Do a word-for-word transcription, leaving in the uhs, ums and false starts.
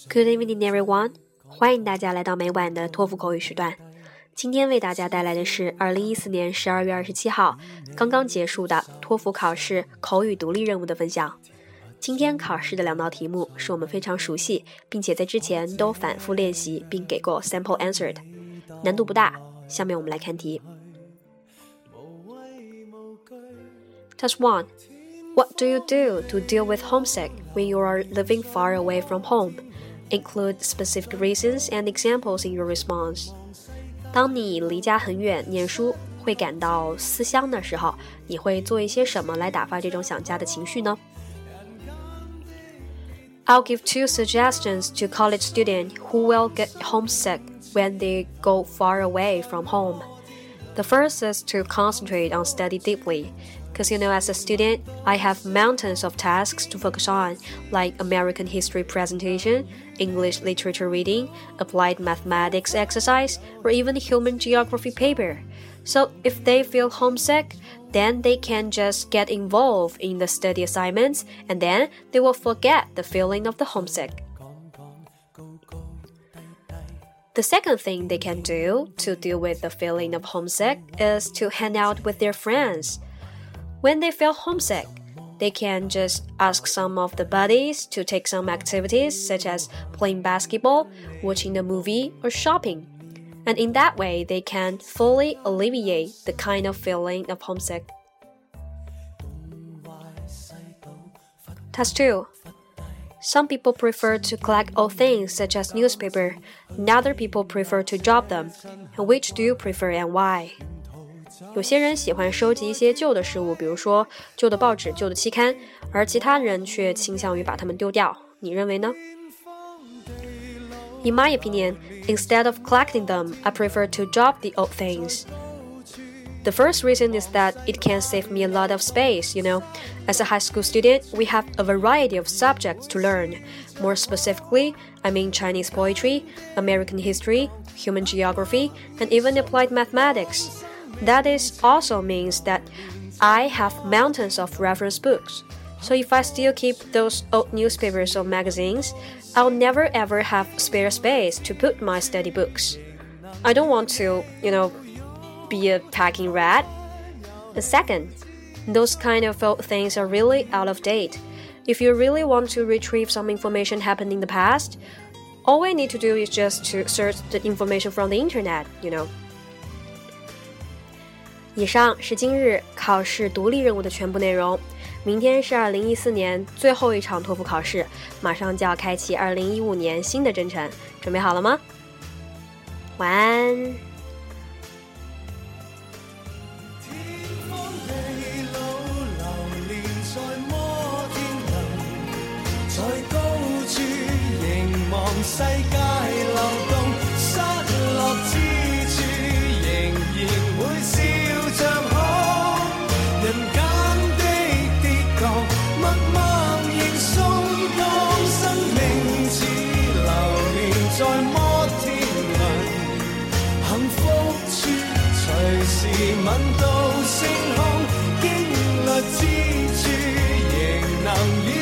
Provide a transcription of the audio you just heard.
Good evening, everyone. 欢迎大家来到每晚的托福口语时段。今天为大家带来的是二零一四年十二月二十七号刚刚结束的托福考试口语独立任务的分享。今天考试的两道题目是我们非常熟悉，并且在之前都反复练习并给过 sample answer 的，难度不大。下面我们来看题。Task one. What do you do to deal with homesick when you are living far away from home? Include specific reasons and examples in your response. 当你离家很远念书，会感到思乡的时候，你会做一些什么来打发这种想家的情绪呢？ I'll give two suggestions to college students who will get homesick when they go far away from home. The first is to concentrate on study deeply.Because, you know, as a student, I have mountains of tasks to focus on, like American history presentation, English literature reading, applied mathematics exercise, or even human geography paper. So if they feel homesick, then they can just get involved in the study assignments, and then they will forget the feeling of the homesick. The second thing they can do to deal with the feeling of homesick is to hang out with their friends.When they feel homesick, they can just ask some of the buddies to take some activities such as playing basketball, watching a movie, or shopping. And in that way, they can fully alleviate the kind of feeling of homesick. Task two. Some people prefer to collect old things such as newspaper, and other people prefer to drop them. And which do you prefer and why?有些人喜欢收集一些旧的事物，比如说旧的报纸、旧的期刊，而其他人却倾向于把它们丢掉。你认为呢？ In my opinion, instead of collecting them, I prefer to drop the old things. The first reason is that it can save me a lot of space, you know. As a high school student, we have a variety of subjects to learn. More specifically, I mean Chinese poetry, American history, human geography, and even applied mathematics.That is also means that I have mountains of reference books. So if I still keep those old newspapers or magazines, I'll never ever have spare space to put my study books. I don't want to, you know, be a packing rat. And second, those kind of old things are really out of date. If you really want to retrieve some information happened in the past, all we need to do is just to search the information from the internet, you know.以上是今日考试独立任务的全部内容。明天是二零一四年最后一场托福考试，马上就要开启二零一五年新的征程，准备好了吗？晚安。 在摩天輪，幸福處隨時聞到星空，經歷之處仍能